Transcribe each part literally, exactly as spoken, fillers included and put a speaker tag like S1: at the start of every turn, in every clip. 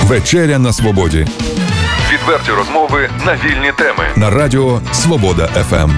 S1: Вечеря на свободі.
S2: Відверті розмови на вільні теми.
S1: На радіо Свобода еф ем.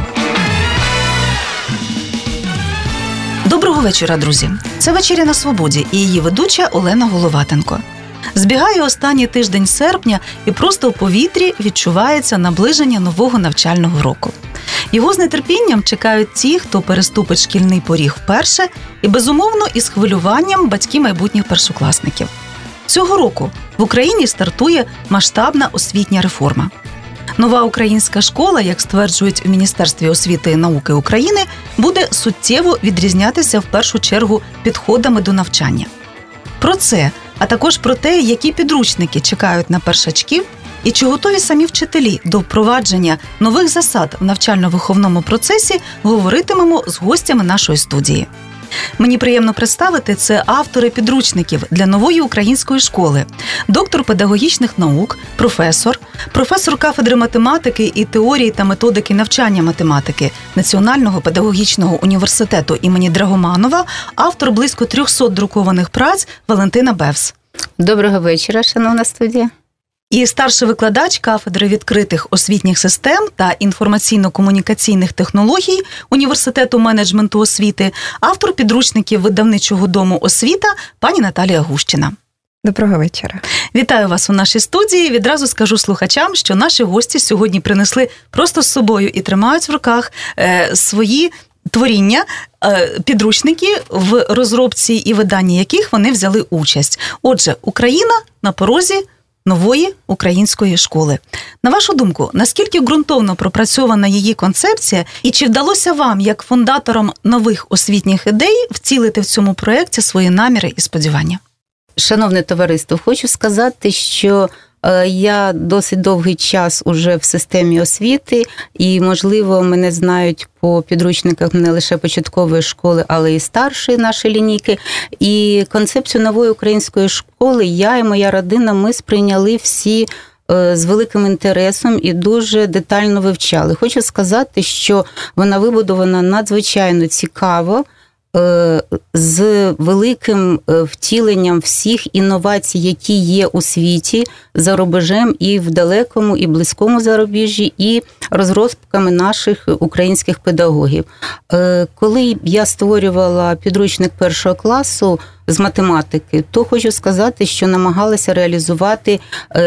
S3: Доброго вечора, друзі. Це «Вечеря на свободі» і її ведуча Олена Головатенко. Збігає останній тиждень серпня, і просто в повітрі відчувається наближення нового навчального року. Його з нетерпінням чекають ті, хто переступить шкільний поріг вперше, і, безумовно, із хвилюванням батьки майбутніх першокласників. Цього року в Україні стартує масштабна освітня реформа. Нова українська школа, як стверджують у Міністерстві освіти і науки України, буде суттєво відрізнятися в першу чергу підходами до навчання. Про це, а також про те, які підручники чекають на першачків і чи готові самі вчителі до впровадження нових засад в навчально-виховному процесі, говоритимемо з гостями нашої студії. Мені приємно представити, це автори підручників для нової української школи, доктор педагогічних наук, професор, професор кафедри математики і теорії та методики навчання математики Національного педагогічного університету імені Драгоманова, автор близько трьохсот друкованих праць Валентина Бевс.
S4: Доброго вечора, шановна студія.
S3: І старший викладач кафедри відкритих освітніх систем та інформаційно-комунікаційних технологій Університету менеджменту освіти, автор підручників видавничого дому «Освіта» пані Наталія Гущина.
S5: Доброго вечора.
S3: Вітаю вас у нашій студії. Відразу скажу слухачам, що наші гості сьогодні принесли просто з собою і тримають в руках е, свої творіння, підручники, в розробці і виданні яких вони взяли участь. Отже, Україна на порозі нової української школи. На вашу думку, наскільки ґрунтовно пропрацьована її концепція і чи вдалося вам, як фундаторам нових освітніх ідей, втілити в цьому проєкті свої наміри і сподівання?
S4: Шановне товариство, хочу сказати, що я досить довгий час уже в системі освіти, і, можливо, мене знають по підручниках не лише початкової школи, але і старшої нашої лінійки. І концепцію нової української школи я і моя родина, ми сприйняли всі з великим інтересом і дуже детально вивчали. Хочу сказати, що вона вибудована надзвичайно цікаво, з великим втіленням всіх інновацій, які є у світі, за рубежем і в далекому, і близькому зарубіжжі, і розробками наших українських педагогів. Коли я створювала підручник першого класу з математики, то хочу сказати, що намагалася реалізувати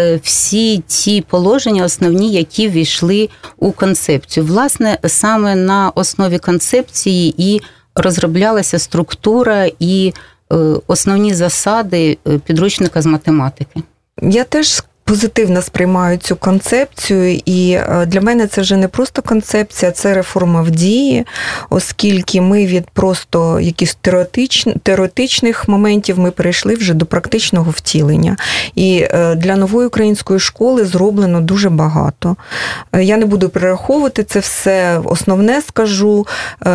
S4: всі ті положення основні, які ввійшли у концепцію. Власне, саме на основі концепції і розроблялася структура і основні засади підручника з математики.
S5: Я теж позитивно сприймаю цю концепцію, і для мене це вже не просто концепція, це реформа в дії, оскільки ми від просто якихось теоретичних, теоретичних моментів ми перейшли вже до практичного втілення. І для нової української школи зроблено дуже багато. Я не буду перераховувати це все, основне скажу,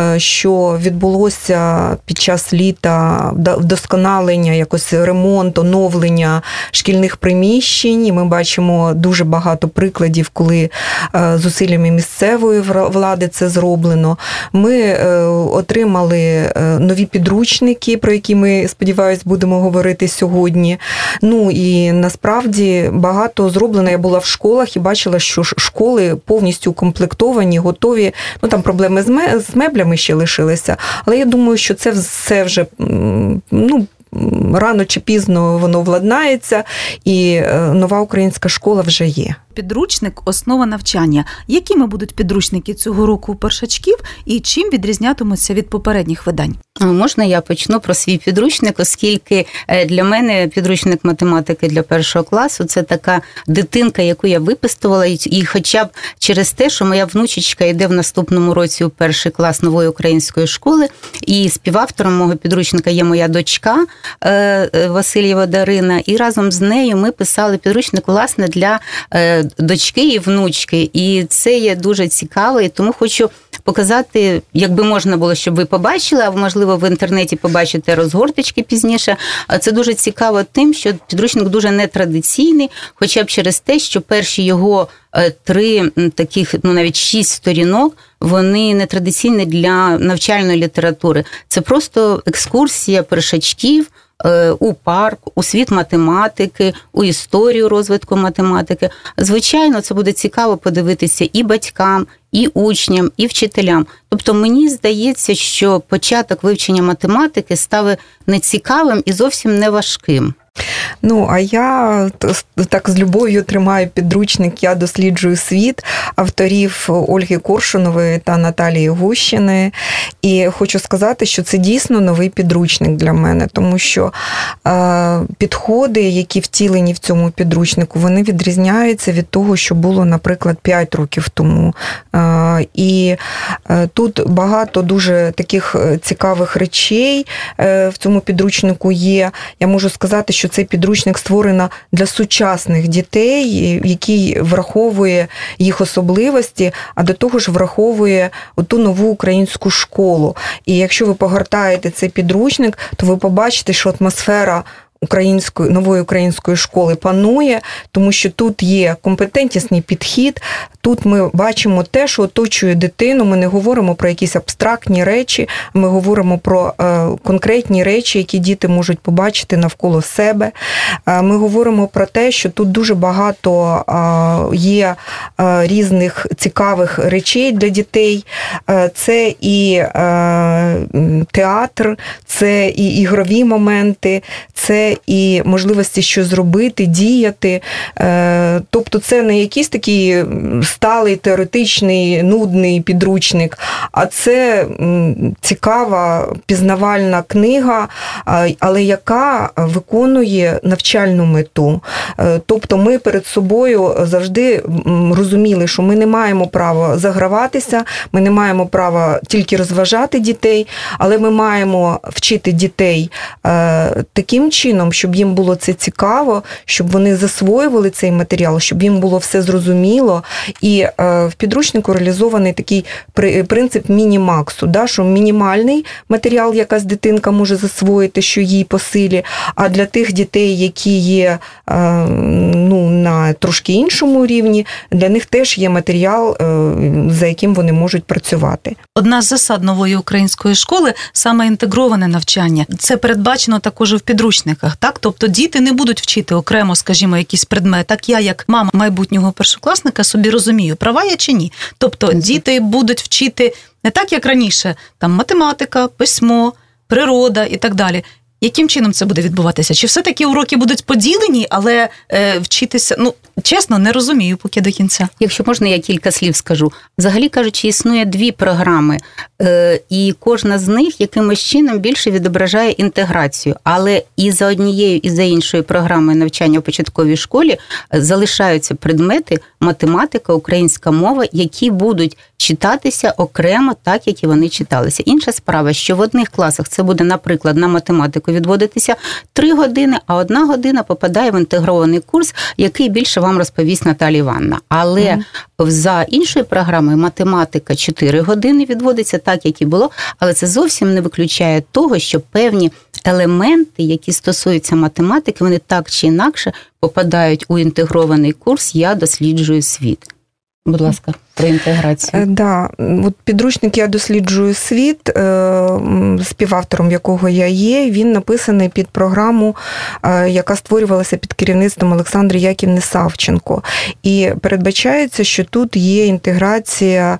S5: що відбулося під час літа вдосконалення, якось ремонт, оновлення шкільних приміщень. Ми бачимо дуже багато прикладів, коли зусиллями місцевої влади це зроблено. Ми отримали нові підручники, про які ми, сподіваюся, будемо говорити сьогодні. Ну і насправді багато зроблено. Я була в школах і бачила, що школи повністю укомплектовані, готові. Ну там проблеми з меблями ще лишилися, але я думаю, що це все вже, ну, рано чи пізно воно владнається, і нова українська школа вже є.
S3: Підручник – основа навчання. Якими будуть підручники цього року у першачків і чим відрізнятимуться від попередніх видань?
S4: Можна я почну про свій підручник, оскільки для мене підручник математики для першого класу – це така дитинка, яку я виписувала, і хоча б через те, що моя внучечка йде в наступному році у перший клас нової української школи, і співавтором мого підручника є моя дочка Васильєва Дарина, і разом з нею ми писали підручник, власне, для дочки і внучки, і це є дуже цікаво, і тому хочу показати, якби можна було, щоб ви побачили, а можливо в інтернеті побачите розгорточки пізніше. Це дуже цікаво тим, що підручник дуже нетрадиційний, хоча б через те, що перші його три таких, ну навіть шість сторінок, вони нетрадиційні для навчальної літератури. Це просто екскурсія першачків у парк, у світ математики, у історію розвитку математики. Звичайно, це буде цікаво подивитися і батькам, і учням, і вчителям. Тобто мені здається, що початок вивчення математики став нецікавим і зовсім не важким.
S5: Ну, а я так з любов'ю тримаю підручник «Я досліджую світ» авторів Ольги Коршунової та Наталії Гущини. І хочу сказати, що це дійсно новий підручник для мене, тому що е, підходи, які втілені в цьому підручнику, вони відрізняються від того, що було, наприклад, п'ять років тому. Е, і е, тут багато дуже таких цікавих речей е, в цьому підручнику є. Я можу сказати, що цей підручник створено для сучасних дітей, який враховує їх особливості, а до того ж враховує ту нову українську школу. І якщо ви погортаєте цей підручник, то ви побачите, що атмосфера української, нової української школи панує, тому що тут є компетентнісний підхід, тут ми бачимо те, що оточує дитину, ми не говоримо про якісь абстрактні речі, ми говоримо про е, конкретні речі, які діти можуть побачити навколо себе. Е, ми говоримо про те, що тут дуже багато е, є е, різних цікавих речей для дітей. Е, це і е, театр, це і ігрові моменти, це і можливості що зробити, діяти. Тобто це не якийсь такий сталий, теоретичний, нудний підручник, а це цікава, пізнавальна книга, але яка виконує навчальну мету. Тобто ми перед собою завжди розуміли, що ми не маємо права заграватися, ми не маємо права тільки розважати дітей, але ми маємо вчити дітей таким чином, щоб їм було це цікаво, щоб вони засвоювали цей матеріал, щоб їм було все зрозуміло. І в підручнику реалізований такий принцип міні-максу, да, що мінімальний матеріал якась дитинка може засвоїти, що їй по силі, а для тих дітей, які є ну, на трошки іншому рівні, для них теж є матеріал, за яким вони можуть працювати.
S3: Одна з засад нової української школи – саме інтегроване навчання. Це передбачено також і в підручниках. Так? Тобто діти не будуть вчити окремо, скажімо, якийсь предмет. Так я, як мама майбутнього першокласника, собі розумію, права я чи ні. Тобто діти будуть вчити не так, як раніше, там математика, письмо, природа і так далі. Яким чином це буде відбуватися? Чи все-таки уроки будуть поділені, але е, вчитися, ну, чесно, не розумію поки до кінця.
S4: Якщо можна, я кілька слів скажу. Взагалі кажучи, існує дві програми, е, і кожна з них якимось чином більше відображає інтеграцію. Але і за однією, і за іншою програмою навчання в початковій школі залишаються предмети математика, українська мова, які будуть читатися окремо так, як і вони читалися. Інша справа, що в одних класах це буде, наприклад, на математику відводитися три години, а одна година попадає в інтегрований курс, який більше вам розповість Наталія Іванівна. Але mm. за іншою програмою математика чотири години відводиться так, як і було, але це зовсім не виключає того, що певні елементи, які стосуються математики, вони так чи інакше попадають у інтегрований курс «Я досліджую світ». Будь ласка, про інтеграцію.
S5: Да, от підручник «Я досліджую світ», співавтором якого я є, він написаний під програму, яка створювалася під керівництвом Олександри Яківни Савченко. І передбачається, що тут є інтеграція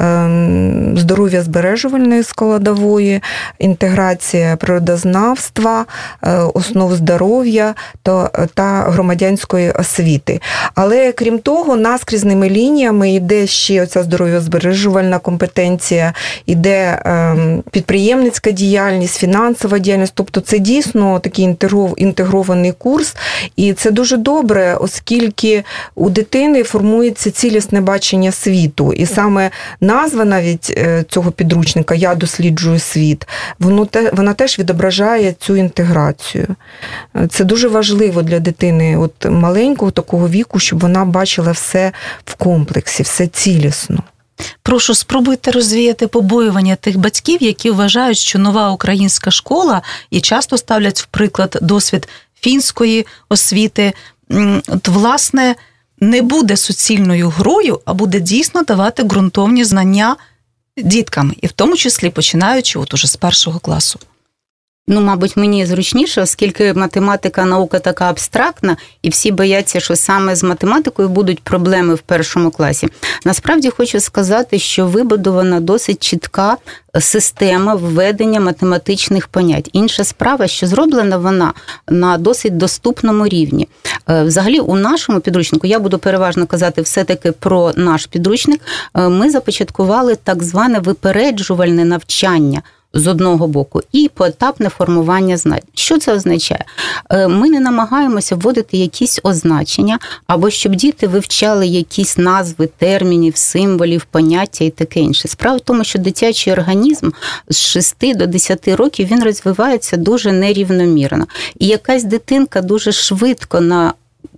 S5: здоров'я збережувальної складової, інтеграція природознавства, основ здоров'я та громадянської освіти. Але, крім того, наскрізними лініями йде ще оця здоров'язбережувальна компетенція, іде підприємницька діяльність, фінансова діяльність. Тобто це дійсно такий інтегрований курс. І це дуже добре, оскільки у дитини формується цілісне бачення світу. І саме назва навіть цього підручника «Я досліджую світ», воно те, вона теж відображає цю інтеграцію. Це дуже важливо для дитини от маленького такого віку, щоб вона бачила все в комплексі, все цілісно.
S3: Прошу, спробуйте розвіяти побоювання тих батьків, які вважають, що нова українська школа, і часто ставлять в приклад досвід фінської освіти, от, власне, не буде суцільною грою, а буде дійсно давати ґрунтовні знання діткам, і в тому числі починаючи от уже з першого класу.
S4: Ну, мабуть, мені зручніше, оскільки математика, наука така абстрактна, і всі бояться, що саме з математикою будуть проблеми в першому класі. Насправді хочу сказати, що вибудована досить чітка система введення математичних понять. Інша справа, що зроблена вона на досить доступному рівні. Взагалі, у нашому підручнику, я буду переважно казати все-таки про наш підручник, ми започаткували так зване випереджувальне навчання з одного боку, і поетапне формування знань. Що це означає? Ми не намагаємося вводити якісь означення, або щоб діти вивчали якісь назви термінів, символів, поняття і таке інше. Справа в тому, що дитячий організм з шести до десяти років, він розвивається дуже нерівномірно. І якась дитинка дуже швидко на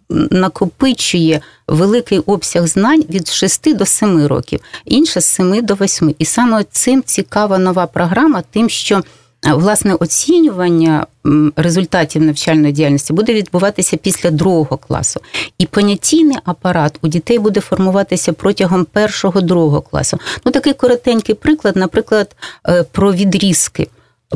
S4: накопичує великий обсяг знань від шести до семи років, інша з семи до восьми. І саме цим цікава нова програма, тим, що, власне, оцінювання результатів навчальної діяльності буде відбуватися після другого класу. І понятійний апарат у дітей буде формуватися протягом першого-другого класу. Ну, такий коротенький приклад, наприклад, про відрізки,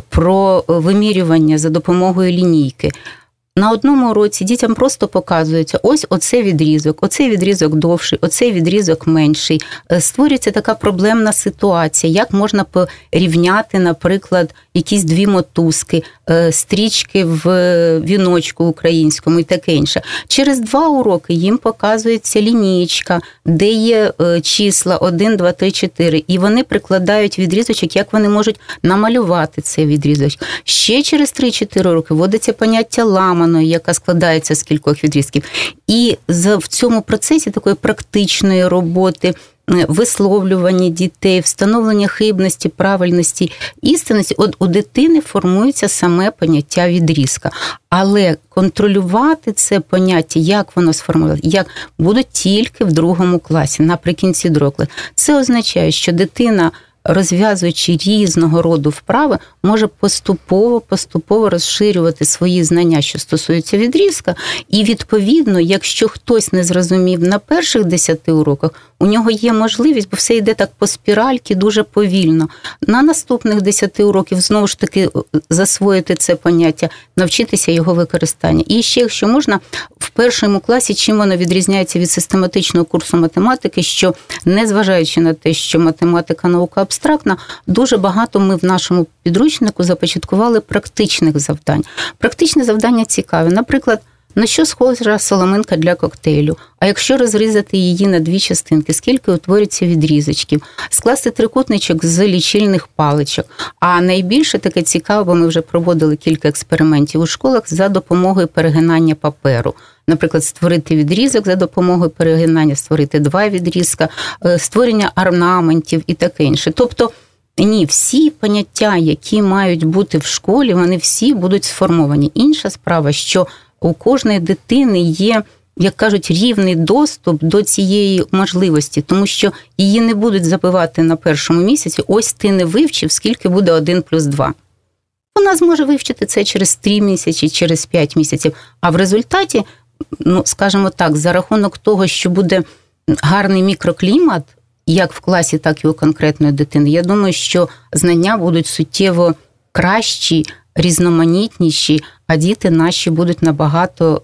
S4: про вимірювання за допомогою лінійки. На одному уроці дітям просто показується, ось оцей відрізок, оцей відрізок довший, оцей відрізок менший. Створюється така проблемна ситуація, як можна порівняти, наприклад, якісь дві мотузки, стрічки в віночку українському і таке інше. Через два уроки їм показується лінієчка, де є числа один, два, три, чотири, і вони прикладають відрізочок, як вони можуть намалювати цей відрізочок. Ще через три-чотири роки вводиться поняття ламаної, яка складається з кількох відрізків. І в цьому процесі такої практичної роботи, висловлювання дітей, встановлення хибності, правильності, істинності, от у дитини формується саме поняття відрізка. Але контролювати це поняття, як воно сформулювати, як будуть тільки в другому класі, наприкінці другого класу. Це означає, що дитина, розв'язуючи різного роду вправи, може поступово-поступово розширювати свої знання, що стосуються відрізка. І, відповідно, якщо хтось не зрозумів на перших десяти уроках, у нього є можливість, бо все йде так по спіральки, дуже повільно. На наступних десяти уроків, знову ж таки, засвоїти це поняття, навчитися його використання. І ще, якщо можна, в першому класі, чим воно відрізняється від систематичного курсу математики, що, незважаючи на те, що математика – наука абстрактна, дуже багато ми в нашому підручнику започаткували практичних завдань. Практичні завдання цікаві. Наприклад, на що схожа соломинка для коктейлю? А якщо розрізати її на дві частинки, скільки утворюється відрізочків? Скласти трикутничок з лічильних паличок. А найбільше таке цікаво, бо ми вже проводили кілька експериментів у школах за допомогою перегинання паперу. Наприклад, створити відрізок за допомогою перегинання, створити два відрізка, створення орнаментів і таке інше. Тобто, ні, всі поняття, які мають бути в школі, вони всі будуть сформовані. Інша справа, що у кожної дитини є, як кажуть, рівний доступ до цієї можливості, тому що її не будуть забивати на першому місяці, ось ти не вивчив, скільки буде один плюс два. Вона зможе вивчити це через три місяці, через п'ять місяців, а в результаті, ну, скажімо так, за рахунок того, що буде гарний мікроклімат, як в класі, так і у конкретної дитини, я думаю, що знання будуть суттєво кращі, різноманітніші, а діти наші будуть набагато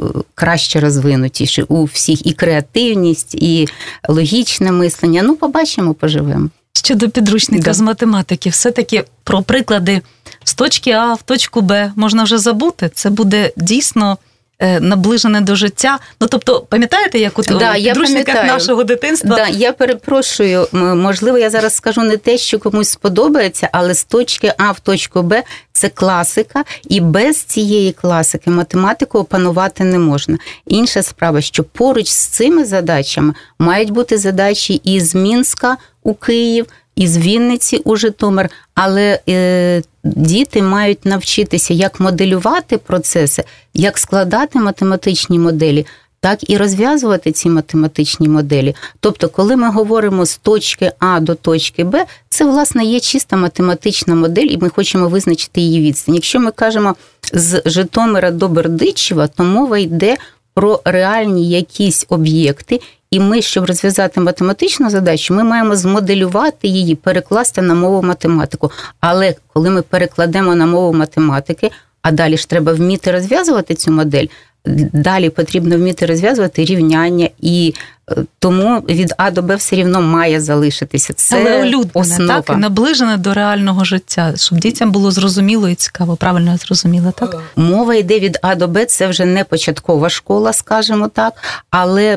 S4: краще розвинутіші у всіх, і креативність, і логічне мислення. Ну, побачимо, поживемо.
S3: Щодо підручника
S4: Да.
S3: з математики, все-таки про приклади з точки А в точку Б можна вже забути. Це буде дійсно наближене до життя. Ну, тобто, пам'ятаєте, як у
S4: да,
S3: підручниках нашого дитинства?
S4: Да, я перепрошую, можливо, я зараз скажу не те, що комусь сподобається, але з точки А в точку Б – це класика, і без цієї класики математику опанувати не можна. Інша справа, що поруч з цими задачами мають бути задачі із Мінська у Київ, із Вінниці у Житомир, але е, діти мають навчитися, як моделювати процеси, як складати математичні моделі, так і розв'язувати ці математичні моделі. Тобто, коли ми говоримо з точки А до точки Б, це, власне, є чиста математична модель, і ми хочемо визначити її відстань. Якщо ми кажемо з Житомира до Бердичева, то мова йде про реальні якісь об'єкти, і ми, щоб розв'язати математичну задачу, ми маємо змоделювати її, перекласти на мову математику. Але коли ми перекладемо на мову математики, а далі ж треба вміти розв'язувати цю модель, далі потрібно вміти розв'язувати рівняння, і тому від А до Б все рівно має залишитися. Це
S3: Але улюднене,
S4: основа.
S3: так, і наближене до реального життя, щоб дітям було зрозуміло і цікаво. Правильно я зрозуміла, так?
S4: Мова йде від А до Б, це вже не початкова школа, скажімо так, але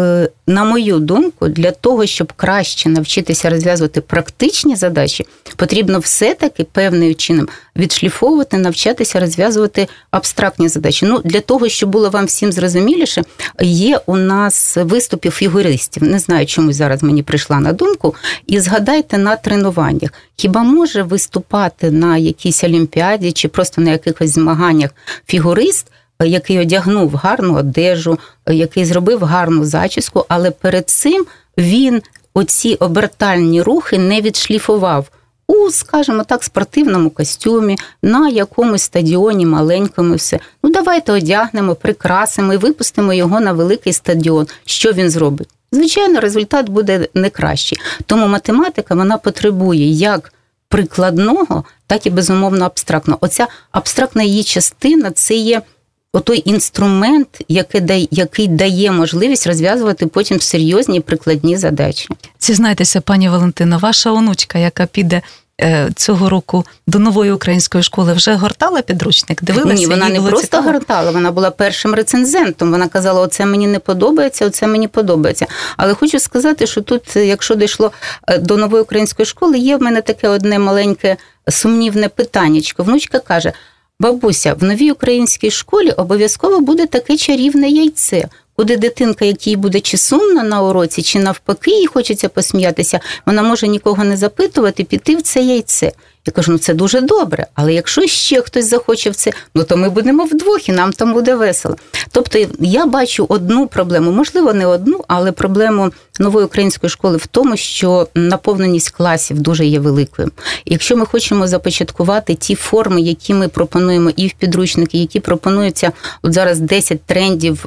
S4: на мою думку, для того, щоб краще навчитися розв'язувати практичні задачі, потрібно все-таки певним чином відшліфовувати, навчатися розв'язувати абстрактні задачі. Ну, для того, щоб було вам всім зрозуміліше, є у нас виступи фігуристів. Не знаю, чому зараз мені прийшла на думку. І згадайте на тренуваннях. Хіба може виступати на якійсь олімпіаді чи просто на якихось змаганнях фігурист, який одягнув гарну одежу, який зробив гарну зачіску, але перед цим він оці обертальні рухи не відшліфував у, скажімо так, спортивному костюмі, на якомусь стадіоні маленькому все. Ну, давайте одягнемо, прикрасимо і випустимо його на великий стадіон. Що він зробить? Звичайно, результат буде не кращий. Тому математика, вона потребує як прикладного, так і, безумовно, абстрактного. Оця абстрактна її частина – це є отой інструмент, який дає, який дає можливість розв'язувати потім серйозні прикладні задачі.
S3: Зізнайтеся, пані Валентино, ваша онучка, яка піде е, цього року до нової української школи, вже гортала підручник? Дивилася?
S4: Ні, вона
S3: їй
S4: не
S3: було
S4: просто
S3: цікаво?
S4: гортала, вона була першим рецензентом. Вона казала, оце мені не подобається, оце мені подобається. Але хочу сказати, що тут, якщо дійшло до нової української школи, є в мене таке одне маленьке сумнівне питаннячко. Внучка каже: бабуся, в новій українській школі обов'язково буде таке чарівне яйце, куди дитинка, якій буде чи сумно на уроці, чи навпаки їй хочеться посміятися, вона може нікого не запитувати, піти в це яйце. Я кажу, ну це дуже добре, але якщо ще хтось захоче в це, ну то ми будемо вдвох і нам там буде весело. Тобто я бачу одну проблему, можливо не одну, але проблему нової української школи в тому, що наповненість класів дуже є великою. І якщо ми хочемо започаткувати ті форми, які ми пропонуємо і в підручники, які пропонуються, от зараз десять трендів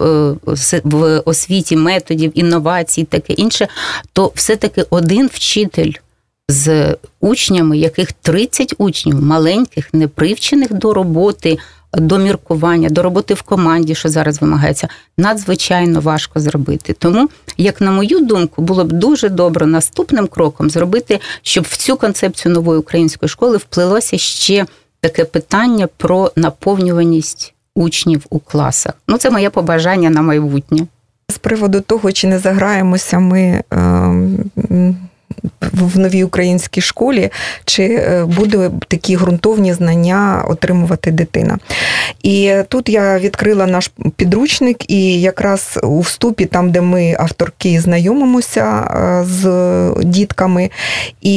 S4: в освіті, методів, інновацій, таке інше, то все-таки один вчитель з учнями, яких тридцять учнів, маленьких, непривчених до роботи, до міркування, до роботи в команді, що зараз вимагається, надзвичайно важко зробити. Тому, як на мою думку, було б дуже добре наступним кроком зробити, щоб в цю концепцію нової української школи вплилося ще таке питання про наповнюваність учнів у класах. Ну, це моє побажання на майбутнє.
S5: З приводу того, чи не заграємося ми е- в новій українській школі, чи буде такі ґрунтовні знання отримувати дитина. І тут я відкрила наш підручник, і якраз у вступі, там, де ми, авторки, знайомимося з дітками, і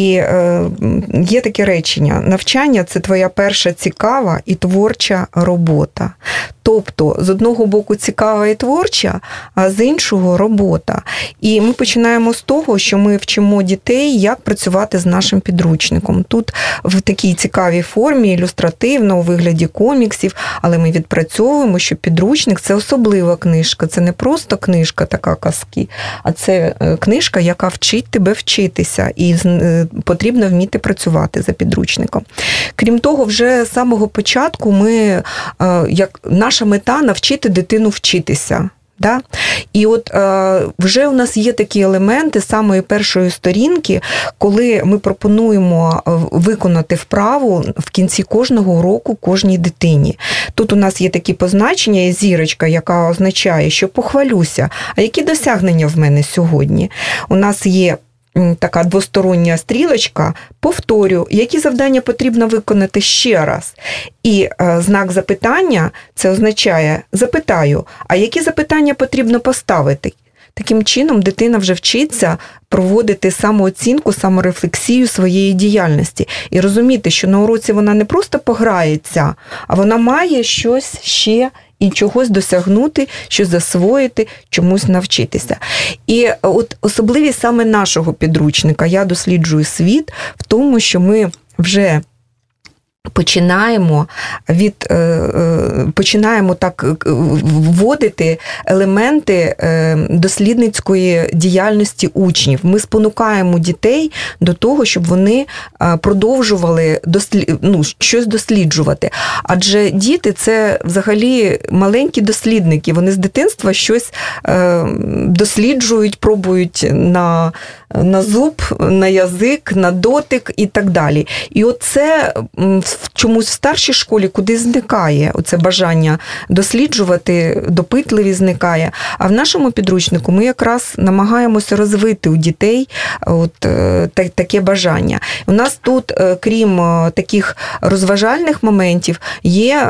S5: є таке речення: навчання – це твоя перша цікава і творча робота. Тобто, з одного боку цікава і творча, а з іншого робота. І ми починаємо з того, що ми вчимо дітей, як працювати з нашим підручником. Тут в такій цікавій формі, ілюстративно, у вигляді коміксів, але ми відпрацьовуємо, що підручник – це особлива книжка. Це не просто книжка така казки, а це книжка, яка вчить тебе вчитися. І потрібно вміти працювати за підручником. Крім того, вже з самого початку ми, як наша мета – навчити дитину вчитися. Да? І от е, вже у нас є такі елементи самої першої сторінки, коли ми пропонуємо виконати вправу в кінці кожного уроку кожній дитині. Тут у нас є такі позначення, є зірочка, яка означає, що похвалюся, а які досягнення в мене сьогодні. У нас є така двостороння стрілочка, повторю, які завдання потрібно виконати ще раз. І е, знак запитання, це означає, запитаю, а які запитання потрібно поставити? Таким чином, дитина вже вчиться проводити самооцінку, саморефлексію своєї діяльності. І розуміти, що на уроці вона не просто пограється, а вона має щось ще і чогось досягнути, щось засвоїти, чомусь навчитися. І от особливість саме нашого підручника, я досліджую світ в тому, що ми вже починаємо від починаємо так вводити елементи дослідницької діяльності учнів. Ми спонукаємо дітей до того, щоб вони продовжували дослід... ну, щось досліджувати. Адже діти – це взагалі маленькі дослідники. Вони з дитинства щось досліджують, пробують на, на зуб, на язик, на дотик і так далі. І оце чомусь в старшій школі куди зникає оце бажання досліджувати, допитливість зникає. А в нашому підручнику ми якраз намагаємося розвити у дітей от так, таке бажання. У нас тут, крім таких розважальних моментів, є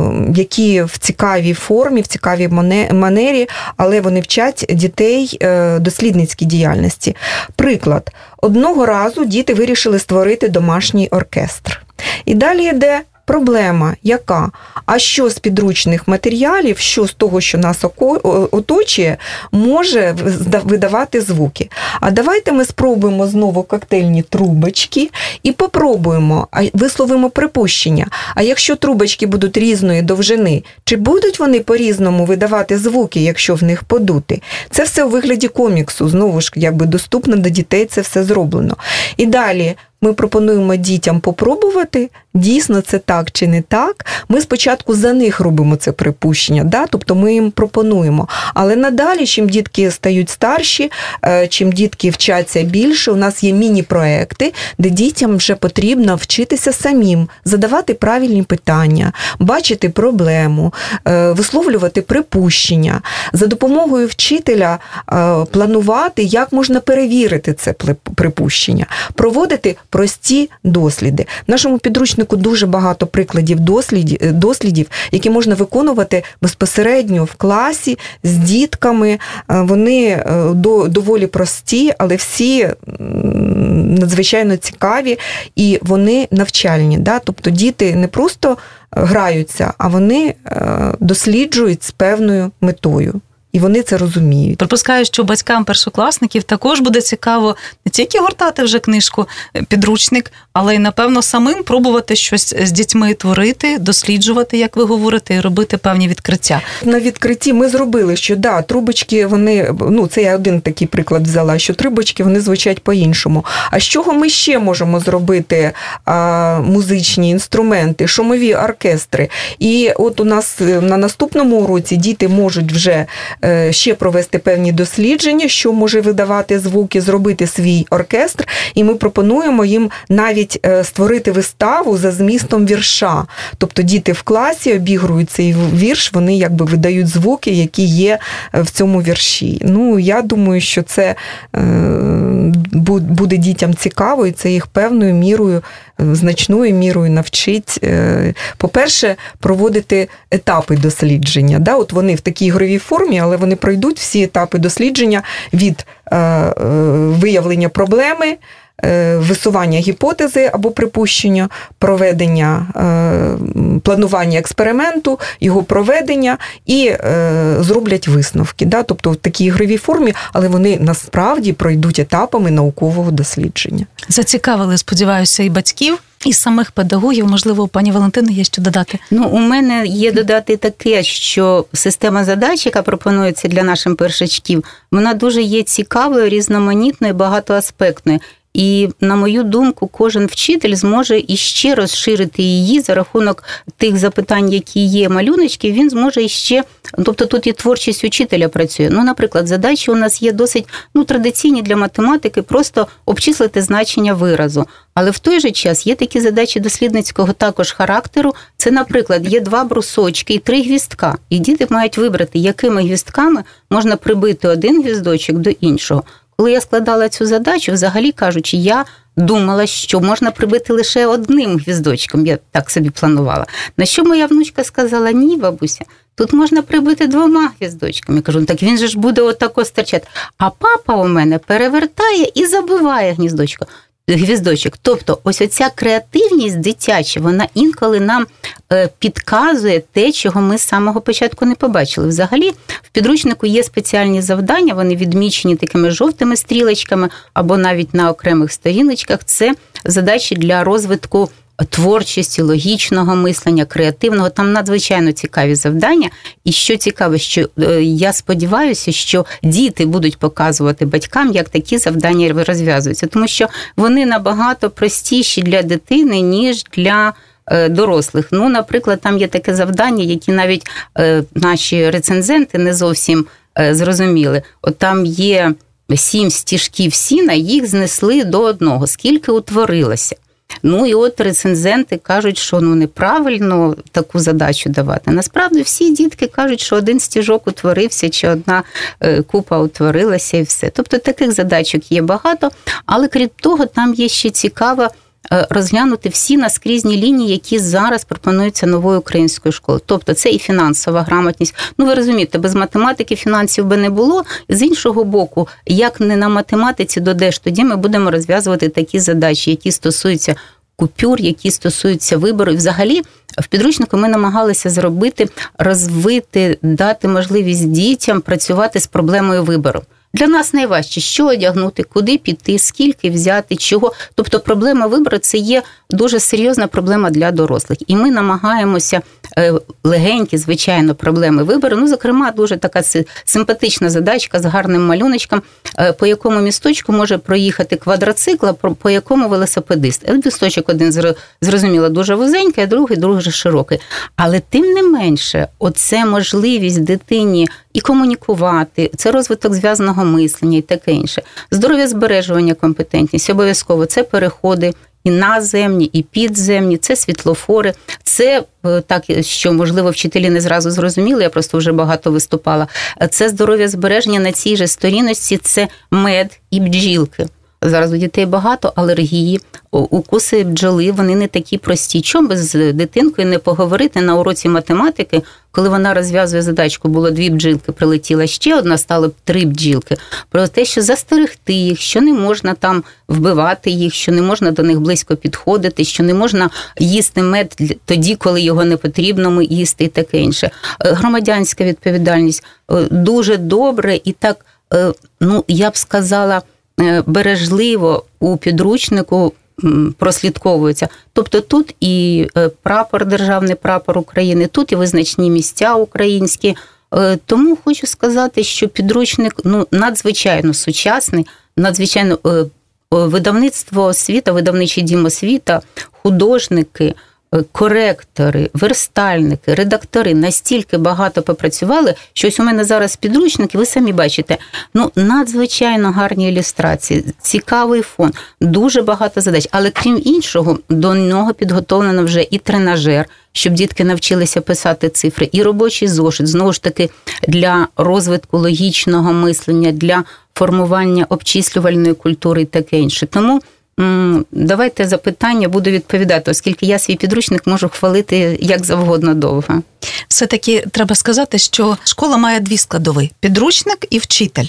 S5: які в цікавій формі, в цікавій манері, але вони вчать дітей дослідницькій діяльності. Приклад. Одного разу діти вирішили створити домашній оркестр. І далі йде проблема, яка? А що з підручних матеріалів, що з того, що нас оточує, може видавати звуки? А давайте ми спробуємо знову коктейльні трубочки і попробуємо, висловимо припущення. А якщо трубочки будуть різної довжини, чи будуть вони по-різному видавати звуки, якщо в них подути? Це все у вигляді коміксу, знову ж, якби доступно до дітей це все зроблено. І далі ми пропонуємо дітям попробувати, дійсно це так чи не так. Ми спочатку за них робимо це припущення, да? Тобто ми їм пропонуємо. Але надалі, чим дітки стають старші, чим дітки вчаться більше, у нас є міні-проекти, де дітям вже потрібно вчитися самим, задавати правильні питання, бачити проблему, висловлювати припущення, за допомогою вчителя планувати, як можна перевірити це припущення, проводити прості досліди. В нашому підручнику дуже багато прикладів дослідів, дослідів, які можна виконувати безпосередньо в класі з дітками. Вони доволі прості, але всі надзвичайно цікаві і вони навчальні. Да? Тобто діти не просто граються, а вони досліджують з певною метою. І вони це розуміють.
S3: Припускаю, що батькам першокласників також буде цікаво не тільки гортати вже книжку, підручник, але й, напевно, самим пробувати щось з дітьми творити, досліджувати, як ви говорите, і робити певні відкриття.
S5: На відкритті ми зробили, що да, трубочки, вони, ну, це я один такий приклад взяла, що трубочки, вони звучать по-іншому. А з чого ми ще можемо зробити а, музичні інструменти, шумові оркестри? І от у нас на наступному уроці діти можуть вже ще провести певні дослідження, що може видавати звуки, зробити свій оркестр, і ми пропонуємо їм навіть створити виставу за змістом вірша. Тобто діти в класі обігрують цей вірш, вони якби видають звуки, які є в цьому вірші. Ну, я думаю, що це буде дітям цікаво, і це їх певною мірою, значною мірою навчить, по-перше, проводити етапи дослідження. Да? От вони в такій ігровій формі, але вони пройдуть всі етапи дослідження від виявлення проблеми, висування гіпотези або припущення, проведення, планування експерименту, його проведення і зроблять висновки. Да? Тобто в такій ігровій формі, але вони насправді пройдуть етапами наукового дослідження.
S3: Зацікавили, сподіваюся, і батьків, і самих педагогів. Можливо, у пані Валентини є що додати?
S4: Ну, у мене є додати таке, що система задач, яка пропонується для наших першачків, вона дуже є цікавою, різноманітною, багатоаспектною. І, на мою думку, кожен вчитель зможе іще розширити її за рахунок тих запитань, які є малюночки, він зможе іще, тобто тут і творчість учителя працює. Ну, наприклад, задачі у нас є досить ну, традиційні для математики, просто обчислити значення виразу. Але в той же час є такі задачі дослідницького також характеру. Це, наприклад, є два брусочки і три гвіздка. І діти мають вибрати, якими гвіздками можна прибити один гвіздочок до іншого. Коли я складала цю задачу, взагалі кажучи, я думала, що можна прибити лише одним гвіздочком, я так собі планувала. На що моя внучка сказала: ні, бабуся, тут можна прибити двома гвіздочками. Я кажу, ну так він же ж буде отако стирчати. А папа у мене перевертає і забиває гніздочко. Гвіздочок. Тобто ось оця креативність дитяча, вона інколи нам підказує те, чого ми з самого початку не побачили. Взагалі, в підручнику є спеціальні завдання, вони відмічені такими жовтими стрілочками або навіть на окремих сторіночках. Це задачі для розвитку творчості, логічного мислення, креативного. Там надзвичайно цікаві завдання. І що цікаво, що я сподіваюся, що діти будуть показувати батькам, як такі завдання розв'язуються. Тому що вони набагато простіші для дитини, ніж для дорослих. Ну, наприклад, там є таке завдання, які навіть наші рецензенти не зовсім зрозуміли. От там є сім стіжків сіна, їх знесли до одного. Скільки утворилося? Ну, і от рецензенти кажуть, що ну неправильно таку задачу давати. Насправді всі дітки кажуть, що один стіжок утворився, чи одна купа утворилася і все. Тобто таких задачок є багато, але крім того, там є ще цікава розглянути всі наскрізні лінії, які зараз пропонуються новою українською школою. Тобто це і фінансова грамотність. Ну, ви розумієте, без математики фінансів би не було. З іншого боку, як не на математиці додеш, тоді ми будемо розв'язувати такі задачі, які стосуються купюр, які стосуються вибору. І взагалі в підручнику ми намагалися зробити, розвити, дати можливість дітям працювати з проблемою вибору. Для нас найважче, що одягнути, куди піти, скільки взяти, чого. Тобто проблема вибору – це є дуже серйозна проблема для дорослих. І ми намагаємося легенькі, звичайно, проблеми вибору. Ну, зокрема, дуже така симпатична задачка з гарним малюночком, по якому місточку може проїхати квадроцикл, по якому велосипедист. Місточок один, зрозуміло, дуже вузенький, а другий дуже широкий. Але тим не менше, оце можливість дитині і комунікувати, це розвиток зв'язаного мислення і таке інше. Здоров'я збережування, компетентність, обов'язково це переходи і наземні, і підземні, це світлофори, це, так, що, можливо, вчителі не зразу зрозуміли, я просто вже багато виступала, це здоров'я збереження на цій же сторіночці, це мед і бджілки. Зараз у дітей багато алергії, укуси бджоли, вони не такі прості. Чому би з дитинкою не поговорити на уроці математики, коли вона розв'язує задачку, було дві бджілки, прилетіла ще одна, стало три бджілки, про те, що застерегти їх, що не можна там вбивати їх, що не можна до них близько підходити, що не можна їсти мед тоді, коли його не потрібно їсти і таке інше. Громадянська відповідальність дуже добре і так, ну, я б сказала, бережливо у підручнику прослідковується. Тобто тут і прапор, державний прапор України, тут і визначні місця українські. Тому хочу сказати, що підручник ну, надзвичайно сучасний, надзвичайно видавництво освіта, видавничий дім освіта, художники, коректори, верстальники, редактори настільки багато попрацювали, що ось у мене зараз підручники, ви самі бачите, ну, надзвичайно гарні ілюстрації, цікавий фон, дуже багато задач. Але крім іншого, до нього підготовлено вже і тренажер, щоб дітки навчилися писати цифри, і робочий зошит, знову ж таки, для розвитку логічного мислення, для формування обчислювальної культури і таке інше. Тому давайте запитання, буду відповідати, оскільки я свій підручник можу хвалити як завгодно довго.
S3: Все-таки треба сказати, що школа має дві складові – підручник і вчитель.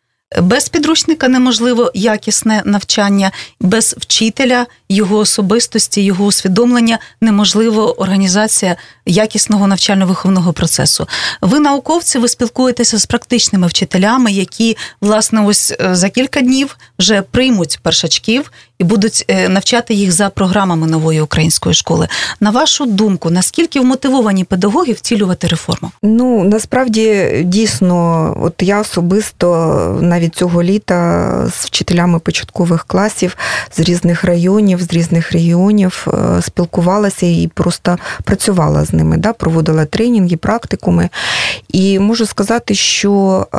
S3: Без підручника неможливо якісне навчання, без вчителя, його особистості, його усвідомлення неможливо організація якісного навчально-виховного процесу. Ви науковці, ви спілкуєтеся з практичними вчителями, які, власне, ось за кілька днів вже приймуть першачків і будуть навчати їх за програмами нової української школи. На вашу думку, наскільки вмотивовані педагоги втілювати реформу?
S5: Ну, насправді, дійсно, от я особисто навіть цього літа з вчителями початкових класів з різних районів, з різних регіонів спілкувалася і просто працювала з ними, да, проводила тренінги, практикуми. І можу сказати, що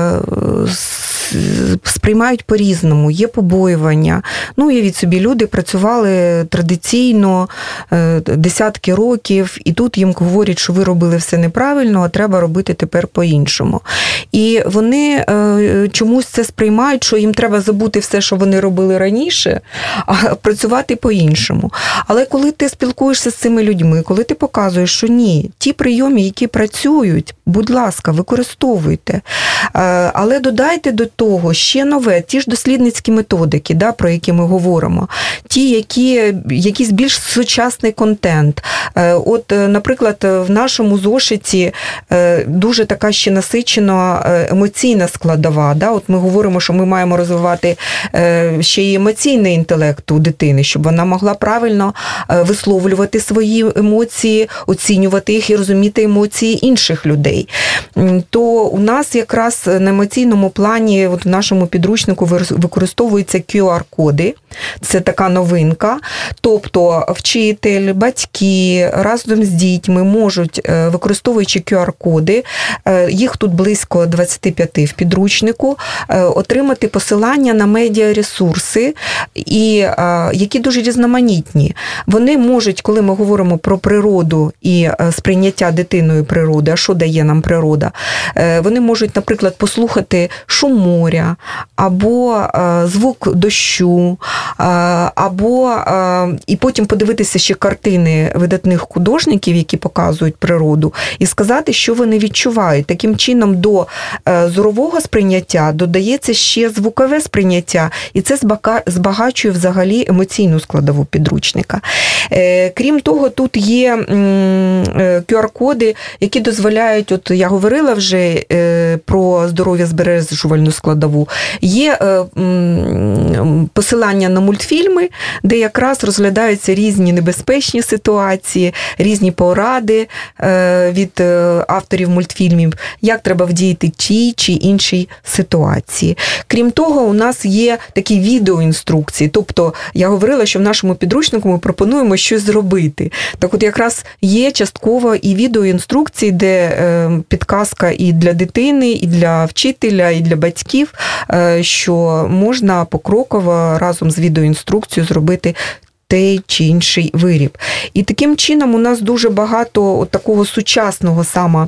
S5: сприймають по-різному, є побоювання. Ну, уявіть собі, люди працювали традиційно десятки років, і тут їм говорять, що ви робили все неправильно, а треба робити тепер по-іншому. І вони чомусь це сприймають, що їм треба забути все, що вони робили раніше, а працювати по-іншому. Але коли ти спілкуєшся з цими людьми, коли ти показуєш, що ні, ті прийоми, які працюють, будь ласка, використовуйте. Але додайте до того ще нове, ті ж дослідницькі методики, да, про які ми говоримо, ті, які, якийсь більш сучасний контент. От, наприклад, в нашому зошиті дуже така ще насичено емоційна складова. Да? От ми говоримо, що ми маємо розвивати ще й емоційний інтелект у дитини, щоб вона могла правильно висловлювати свої емоції, оцінювати їх і розуміти емоції інших людей. То у нас якраз на емоційному плані, от в нашому підручнику використовуються кю ар-коди. Це така новинка. Тобто вчитель, батьки разом з дітьми можуть, використовуючи кю ар-коди, їх тут близько двадцять п'ять в підручнику, отримати посилання на медіаресурси, і, які дуже різноманітні. Вони можуть, коли ми говоримо про природу і сприйняття дитиною природи, а що дає нам природа, вони можуть, наприклад, послухати шум моря, або звук дощу, або і потім подивитися ще картини видатних художників, які показують природу, і сказати, що вони відчувають. Таким чином до зорового сприйняття додається ще звукове сприйняття, і це збагачує взагалі емоційну складову підручника. Крім того, тут є кю ар-коди, які дозволяють, от я говорила вже про здоров'я збережувальну складову, є посилання на мультфільми, де якраз розглядаються різні небезпечні ситуації, різні поради від авторів мультфільмів, як треба вдіяти тій чи іншій ситуації. Крім того, у нас є такі відеоінструкції, тобто я говорила, що в нашому підручнику ми пропонуємо щось зробити. Так от якраз є частково і відеоінструкції, де підказка і для дитини, і для вчителя, і для батьків, що можна покроково разом з відеоінструкцією зробити той чи інший виріб. І таким чином у нас дуже багато от такого сучасного саме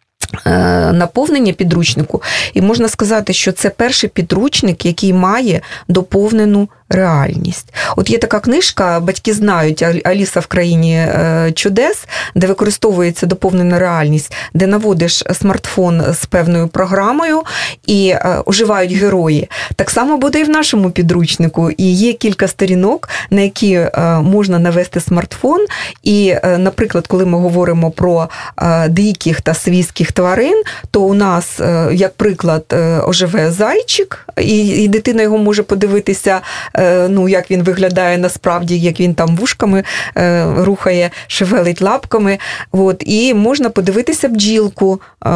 S5: наповнення підручнику, і можна сказати, що це перший підручник, який має доповнену реальність. От є така книжка, батьки знають, «Аліса в країні чудес», де використовується доповнена реальність, де наводиш смартфон з певною програмою і оживають герої. Так само буде і в нашому підручнику. І є кілька сторінок, на які можна навести смартфон. І, наприклад, коли ми говоримо про диких та свійських тварин, то у нас, як приклад, оживе зайчик, і, і дитина його може подивитися, ну, як він виглядає насправді, як він там вушками е, рухає, шевелить лапками. От, і можна подивитися бджілку е,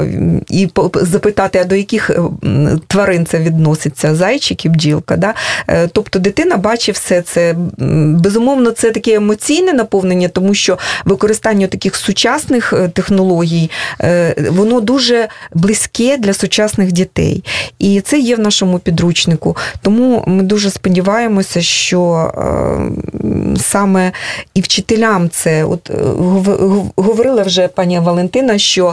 S5: і по, запитати, а до яких тварин це відноситься, зайчик і бджілка. Да? Е, тобто дитина бачить все це. Безумовно, це таке емоційне наповнення, тому що використання таких сучасних технологій, е, воно дуже близьке для сучасних дітей. І це є в нашому підручнику. Тому ми дуже сподіваємося, що е, саме і вчителям це, от говорила вже пані Валентина, що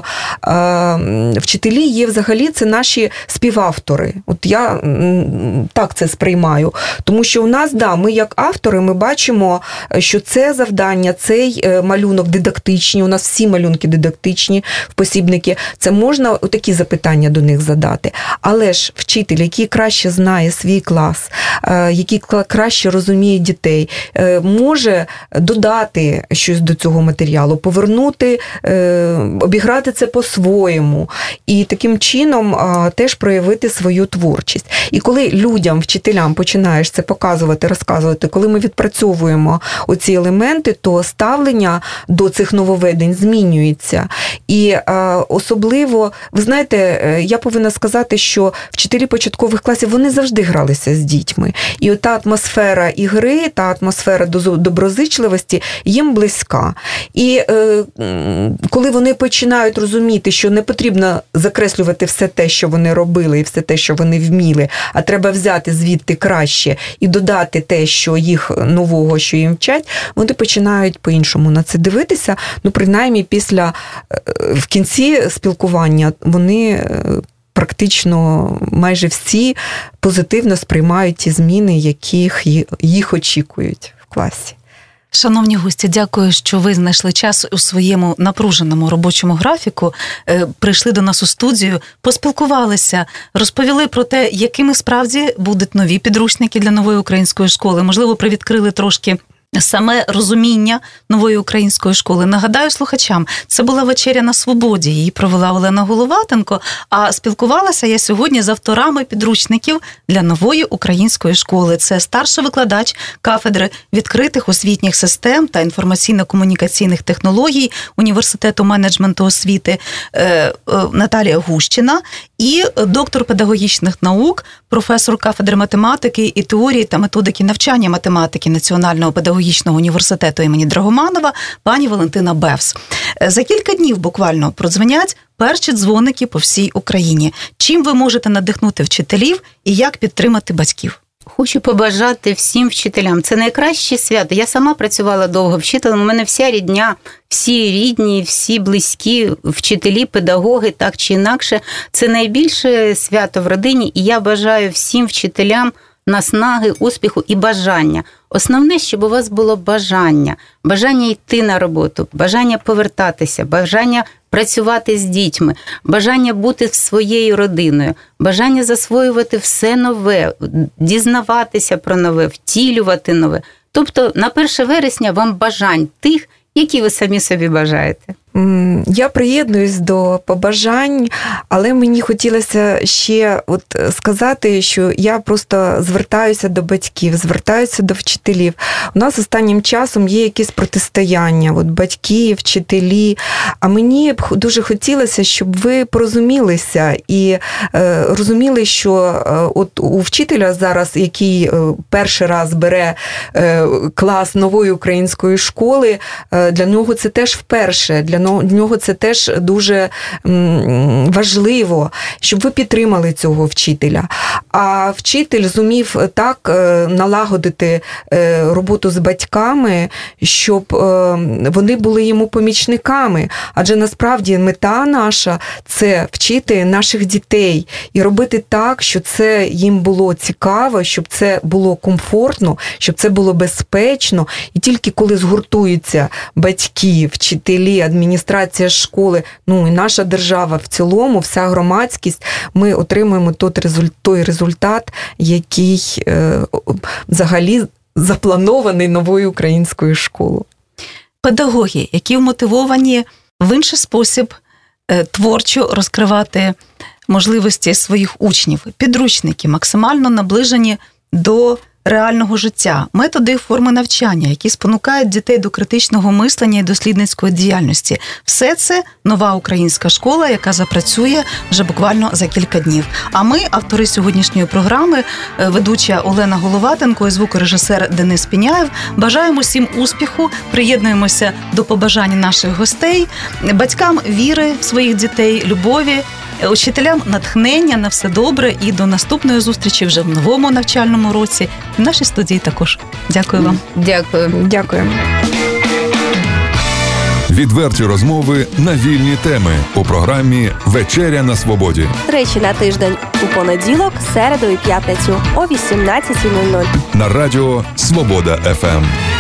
S5: е, вчителі є взагалі, це наші співавтори. От я так це сприймаю. Тому що у нас, да, ми як автори, ми бачимо, що це завдання, цей малюнок дидактичний, у нас всі малюнки дидактичні в посібники, це можна такі запитання до них задати. Але ж вчитель, який краще знає свій клас, який краще розуміє дітей, може додати щось до цього матеріалу, повернути, обіграти це по-своєму і таким чином теж проявити свою творчість. І коли людям, вчителям починаєш це показувати, розказувати, коли ми відпрацьовуємо оці елементи, то ставлення до цих нововведень змінюється. І особливо, ви знаєте, я повинна сказати, що вчителі початкових класів, вони завжди гралися з дітьми. І от та атмосфера ігри, та атмосфера доброзичливості їм близька. І е, коли вони починають розуміти, що не потрібно закреслювати все те, що вони робили, і все те, що вони вміли, а треба взяти звідти краще і додати те, що їх нового, що їм вчать, вони починають по-іншому на це дивитися. Ну, принаймні, після, в кінці спілкування вони практично майже всі позитивно сприймають ті зміни, яких їх очікують в класі.
S3: Шановні гості, дякую, що ви знайшли час у своєму напруженому робочому графіку, прийшли до нас у студію, поспілкувалися, розповіли про те, якими справді будуть нові підручники для нової української школи. Можливо, привідкрили трошки саме розуміння нової української школи. Нагадаю слухачам, це була вечеря на свободі, її провела Олена Головатенко, а спілкувалася я сьогодні з авторами підручників для нової української школи. Це старший викладач кафедри відкритих освітніх систем та інформаційно-комунікаційних технологій Університету менеджменту освіти Наталія Гущина і доктор педагогічних наук, професор кафедри математики і теорії та методики навчання математики Національного педагогічного університету імені Драгоманова пані Валентина Бевс. За кілька днів буквально продзвонять перші дзвоники по всій Україні. Чим ви можете надихнути вчителів і як підтримати батьків?
S4: Хочу побажати всім вчителям. Це найкраще свято. Я сама працювала довго вчителем. У мене вся рідня, всі рідні, всі близькі, вчителі, педагоги, так чи інакше. Це найбільше свято в родині. І я бажаю всім вчителям наснаги, успіху і бажання. Основне, щоб у вас було бажання. Бажання йти на роботу, бажання повертатися, бажання працювати з дітьми, бажання бути своєю родиною, бажання засвоювати все нове, дізнаватися про нове, втілювати нове. Тобто на перше вересня вам бажань тих, які ви самі собі бажаєте.
S5: Я приєднуюсь до побажань, але мені хотілося ще от сказати, що я просто звертаюся до батьків, звертаюся до вчителів. У нас останнім часом є якісь протистояння, от батьки, вчителі, а мені б дуже хотілося, щоб ви порозумілися і е, розуміли, що е, от у вчителя зараз, який е, перший раз бере е, клас нової української школи, е, для нього це теж вперше, для Для нього це теж дуже важливо, щоб ви підтримали цього вчителя. А вчитель зумів так налагодити роботу з батьками, щоб вони були йому помічниками. Адже насправді мета наша – це вчити наших дітей і робити так, щоб це їм було цікаво, щоб це було комфортно, щоб це було безпечно. І тільки коли згуртуються батьки, вчителі, адміністрація школи, ну і наша держава в цілому, вся громадськість, ми отримуємо той результат, який е, взагалі запланований новою українською школою.
S3: Педагоги, які вмотивовані в інший спосіб е, творчо розкривати можливості своїх учнів, підручники максимально наближені до реального життя, методи і форми навчання, які спонукають дітей до критичного мислення і дослідницької діяльності. Все це нова українська школа, яка запрацює вже буквально за кілька днів. А ми, автори сьогоднішньої програми, ведуча Олена Головатенко і звукорежисер Денис Піняєв, бажаємо всім успіху, приєднуємося до побажань наших гостей, батькам віри в своїх дітей, любові, учителям натхнення на все добре і до наступної зустрічі вже в новому навчальному році. В нашій студії також. Дякую вам.
S4: Дякую.
S5: Дякую.
S1: Відверті розмови на вільні теми у програмі «Вечеря на свободі».
S6: Тричі на тиждень у понеділок, середу і п'ятницю о вісімнадцятій нуль нуль.
S1: На радіо «Свобода еф ем».